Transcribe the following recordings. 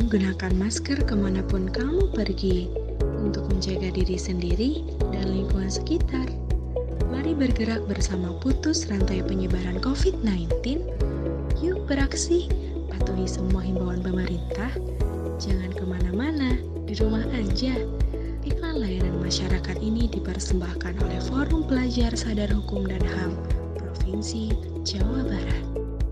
gunakan masker kemanapun kamu pergi untuk menjaga diri sendiri dan lingkungan sekitar. Mari bergerak bersama putus rantai penyebaran COVID-19. Yuk beraksi, patuhi semua himbauan pemerintah. Jangan kemana-mana, di rumah aja. Iklan layanan masyarakat ini dipersembahkan oleh Forum Pelajar Sadar Hukum dan HAM Provinsi Jawa Barat.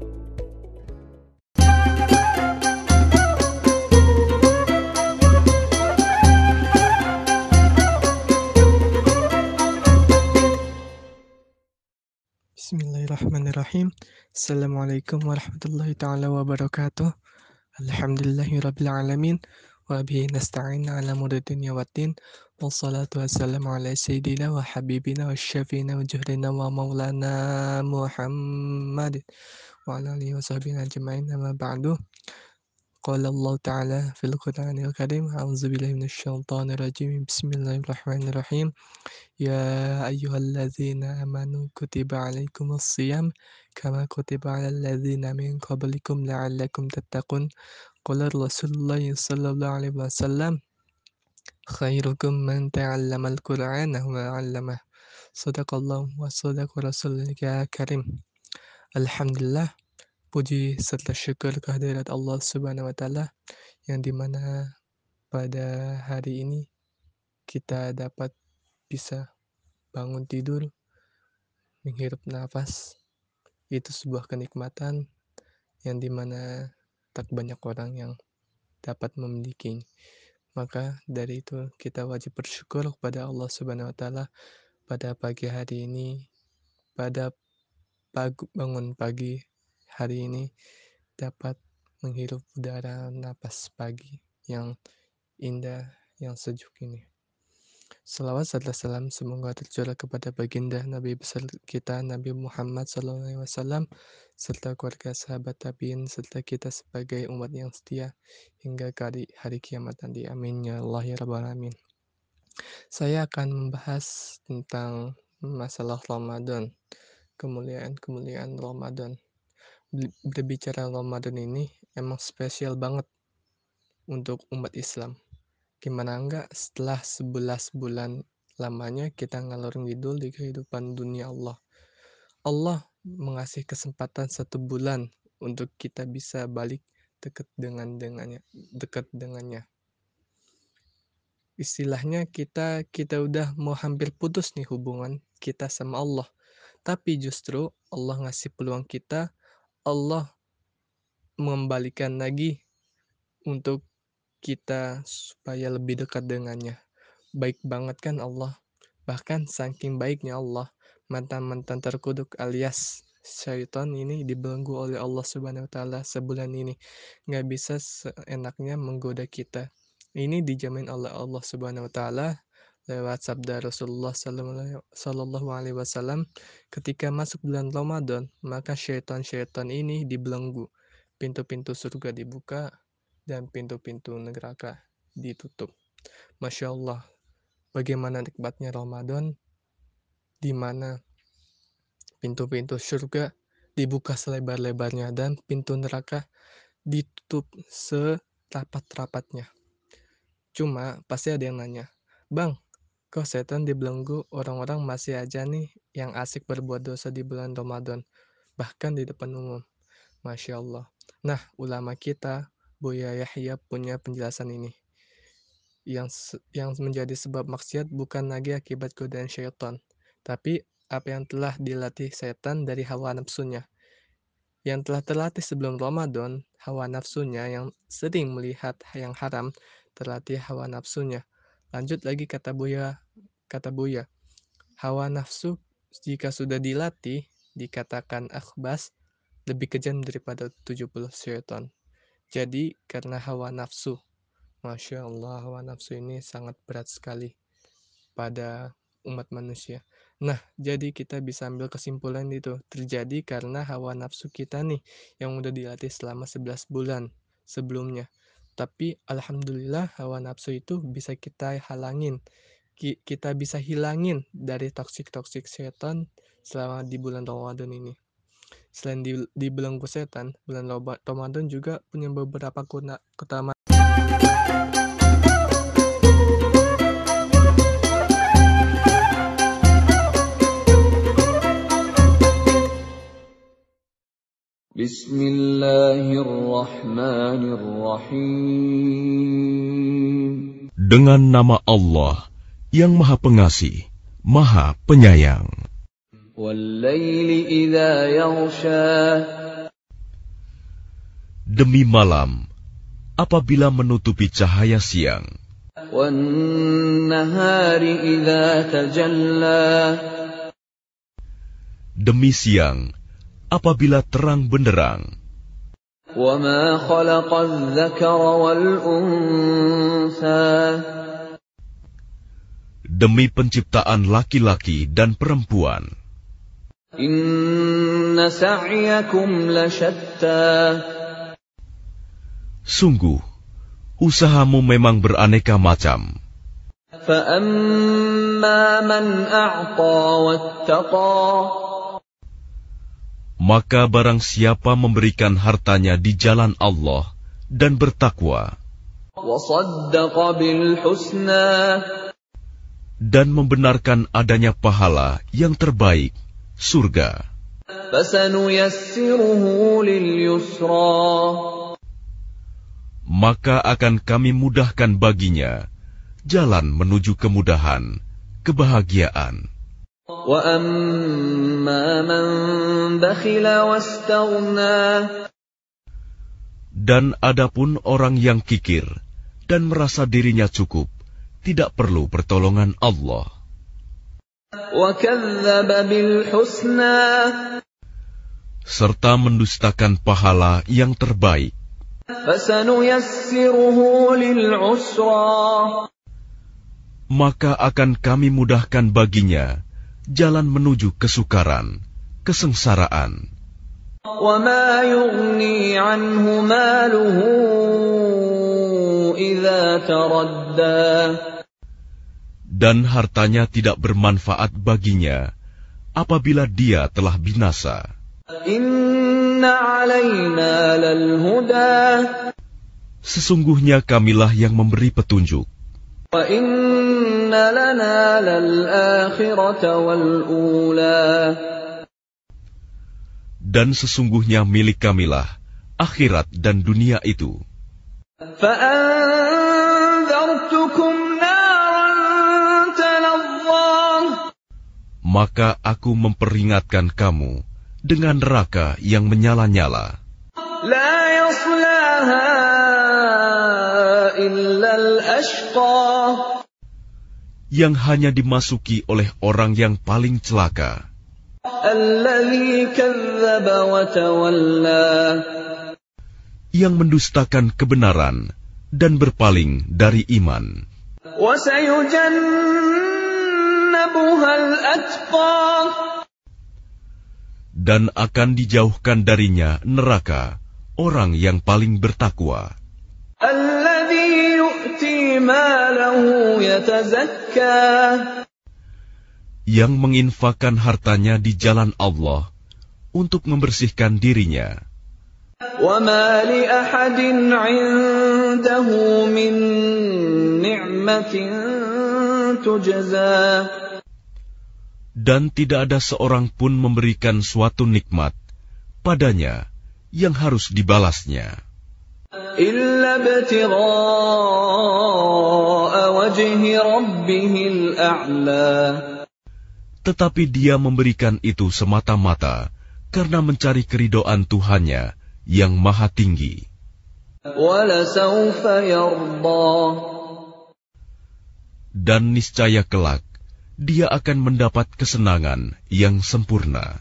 Bismillahirrahmanirrahim. Assalamualaikum warahmatullahi ta'ala wabarakatuh. Alhamdulillahirabbil alamin wa bihi nasta'in ala umuri dunya waddin. Wassalatu wassalamu ala sayyidina wa habibina wa syafiina wa juhdina wa maulana Muhammad wa ala alihi wa sahbihi ajma'in. Amma ba'du. Qala Allah ta'ala fil Qur'anil Karim, a'udzu billahi minasyaitonir rajim. Bismillahirrahmanirrahim. Ya ayyuhalladzina amanu kutiba alaikumus shiyam kama kutiba alal ladzina min qablikum la'allakum tattaqun. Qala Rasulullah sallallahu alaihi wasallam, khairukum man ta'allamal Qur'ana wa 'allamah. Shadaqallahu wa shadaqa rasulul karim. Alhamdulillah, puji serta syukur kehadirat Allah Subhanahu wa taala yang dimana pada hari ini kita dapat bisa bangun tidur, menghirup nafas. Itu sebuah kenikmatan yang dimana tak banyak orang yang dapat memiliki. Maka dari itu kita wajib bersyukur kepada Allah Subhanahu wa taala pada pagi hari ini, pada bangun pagi hari ini dapat menghirup udara napas pagi yang indah, yang sejuk ini. Salawat serta salam semoga tercurah kepada baginda Nabi besar kita Nabi Muhammad SAW serta keluarga sahabat tabiin serta kita sebagai umat yang setia hingga hari kiamat nanti. Amin ya Allah ya Rabbal Alamin. Saya akan membahas tentang masalah Ramadan, kemuliaan Ramadan. Berbicara Ramadan ini emang spesial banget untuk umat Islam. Gimana enggak setelah 11 bulan lamanya kita ngalor ngidul di kehidupan dunia Allah. Allah mengasih kesempatan 1 bulan untuk kita bisa balik dekat dengannya. Istilahnya kita udah mau hampir putus nih hubungan kita sama Allah. Tapi justru Allah ngasih peluang kita, Allah mengembalikan lagi untuk kita supaya lebih dekat dengannya. Baik banget kan Allah. Bahkan saking baiknya Allah, mantan-mantan terkutuk alias syaitan ini dibelenggu oleh Allah Subhanahu wa taala sebulan ini. Nggak bisa seenaknya menggoda kita. Ini dijamin oleh Allah Subhanahu wa taala lewat sabda Rasulullah sallallahu alaihi wasallam, ketika masuk bulan Ramadan, maka syaitan-syaitan ini dibelenggu. Pintu-pintu surga dibuka dan pintu-pintu neraka ditutup. Masya Allah, bagaimana nikmatnya Ramadan, di mana pintu-pintu surga dibuka selebar-lebarnya dan pintu neraka ditutup serapat-rapatnya. Cuma pasti ada yang nanya, Bang, kok setan dibelenggu, orang-orang masih aja nih yang asik berbuat dosa di bulan Ramadan, bahkan di depan umum. Masya Allah. Nah, ulama kita, Buya Yahya punya penjelasan ini. Yang menjadi sebab maksiat bukan lagi akibat godaan syaitan, tapi apa yang telah dilatih setan dari hawa nafsunya. Yang telah terlatih sebelum Ramadan, hawa nafsunya yang sering melihat yang haram, terlatih hawa nafsunya. Lanjut lagi kata Buya, hawa nafsu jika sudah dilatih, dikatakan akhbas, lebih kejam daripada 70 syaitan. Jadi karena hawa nafsu, Masya Allah, hawa nafsu ini sangat berat sekali pada umat manusia. Nah, jadi kita bisa ambil kesimpulan itu terjadi karena hawa nafsu kita nih yang udah dilatih selama 11 bulan sebelumnya. Tapi alhamdulillah hawa nafsu itu bisa kita halangin. Kita bisa hilangin dari toksik-toksik setan selama di bulan Ramadan ini. Selain dibelenggu setan, bulan Ramadan juga punya beberapa keutamaan. Bismillahirrahmanirrahim. Dengan nama Allah yang Maha Pengasih, Maha Penyayang. Wal-laili idza yaghsha. Demi malam apabila menutupi cahaya siang. Wan-nahari idza tajalla. Demi siang apabila terang benderang. وَمَا خَلَقَ الذَّكَرَ وَالْأُنثَى. Demi penciptaan laki-laki dan perempuan. Inna sa'yakum lasyatta. Sungguh, usahamu memang beraneka macam. فَأَمَّا مَنْ أَعْطَى وَاتَّقَى. Maka barang siapa memberikan hartanya di jalan Allah dan bertakwa وَصَدَّقَ بِالْحُسْنَى. dan membenarkan adanya pahala yang terbaik, surga, فَسَنُيَسِّرُهُ لِلْيُسْرَى. maka akan kami mudahkan baginya jalan menuju kemudahan, kebahagiaan. وَأَمَّا مَنْ بَخِلَ وَاسْتَغْنَى. Dan adapun orang yang kikir dan merasa dirinya cukup, tidak perlu pertolongan Allah. وَكَذَّبَ بِالْحُسْنَى. Serta mendustakan pahala yang terbaik. فَسَنُيَسِّرُهُ لِلْعُسْرَى. Maka akan kami mudahkan baginya jalan menuju kesukaran, kesengsaraan. وَمَا يُغْنِي عَنْهُ مَالُهُ إِذَا تَرَدَّى. Dan hartanya tidak bermanfaat baginya apabila dia telah binasa. Inna alaina lalhuda. Sesungguhnya kamilah yang memberi petunjuk. Wa inna lana lal-akhirata wal-ula. Dan sesungguhnya milik kamilah akhirat dan dunia itu. Fa'anzartukum naran talazza. Maka aku memperingatkan kamu dengan neraka yang menyala-nyala. La yaslaha illa al-ashqa. Yang hanya dimasuki oleh orang yang paling celaka. Alladzi kadzdzaba wa tawalla. Yang mendustakan kebenaran dan berpaling dari iman. Wa sayujannabuha al-atqa. Dan akan dijauhkan darinya neraka orang yang paling bertakwa. Alladzi yu'ti malahu yatazakka. Yang menginfakkan hartanya di jalan Allah untuk membersihkan dirinya. Wa ma li ahadin 'indahu min ni'matin tujza. Dan tidak ada seorang pun memberikan suatu nikmat padanya yang harus dibalasnya. Illa ibtigha'a wajhi rabbihil a'la. Tetapi dia memberikan itu semata-mata karena mencari keridhaan Tuhannya yang maha tinggi. Walasawfa yarda. Dan niscaya kelak dia akan mendapat kesenangan yang sempurna.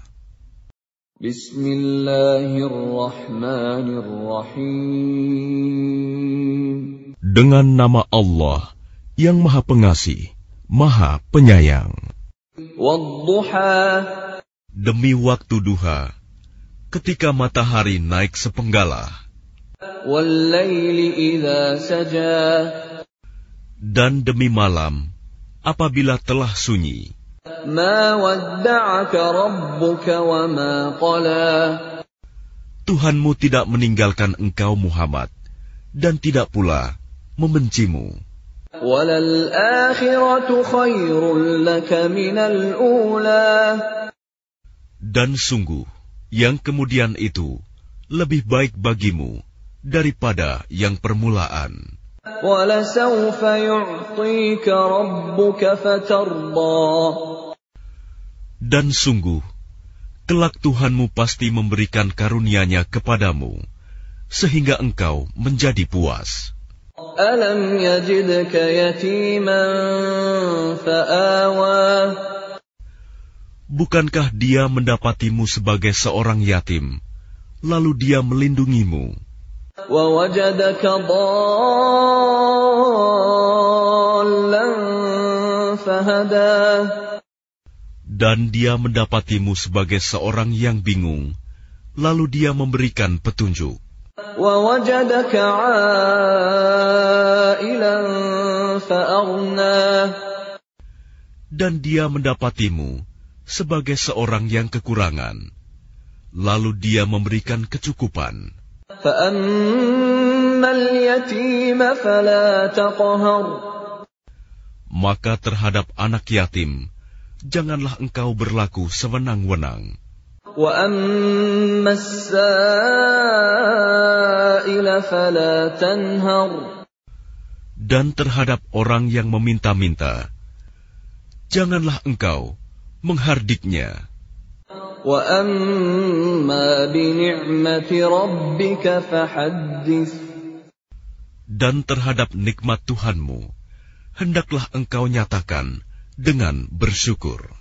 Bismillahirrahmanirrahim. Dengan nama Allah yang Maha Pengasih, Maha Penyayang. Wadduha. Demi waktu duha, ketika matahari naik sepenggalah. Wallaili idza saja. Dan demi malam apabila telah sunyi. Ma wadda'aka rabbuka wa ma qala. Tuhanmu tidak meninggalkan engkau Muhammad dan tidak pula membencimu. Walal akhiratu khairul laka minal ula. Dan sungguh yang kemudian itu lebih baik bagimu daripada yang permulaan. وَلَسَوْفَ يُعْطِيكَ رَبُّكَ فَتَرْضَى. Dan sungguh, kelak Tuhanmu pasti memberikan karunia-Nya kepadamu, sehingga engkau menjadi puas. أَلَمْ يَجِدْكَ يَتِيمًا فَآوَى. Bukankah Dia mendapatimu sebagai seorang yatim, lalu Dia melindungimu? وَوَجَدَكَ ضَالًّا فَهَدَى. Dan Dia mendapatimu sebagai seorang yang bingung, lalu Dia memberikan petunjuk. وَوَجَدَكَ عَائِلًا فَأَغْنَى. Dan Dia mendapatimu sebagai seorang yang kekurangan, lalu Dia memberikan kecukupan. فَأَمَّا الْيَتِيمَ فَلَا تَقْهَرْ. Maka terhadap anak yatim, janganlah engkau berlaku sewenang-wenang. وَأَمَّا السَّائِلَ فَلَا تَنْهَرْ. Dan terhadap orang yang meminta-minta, janganlah engkau menghardiknya. وَأَمَّا بِنِعْمَةِ رَبِّكَ فَحَدِّثْ. Dan terhadap nikmat Tuhanmu, hendaklah engkau nyatakan dengan bersyukur.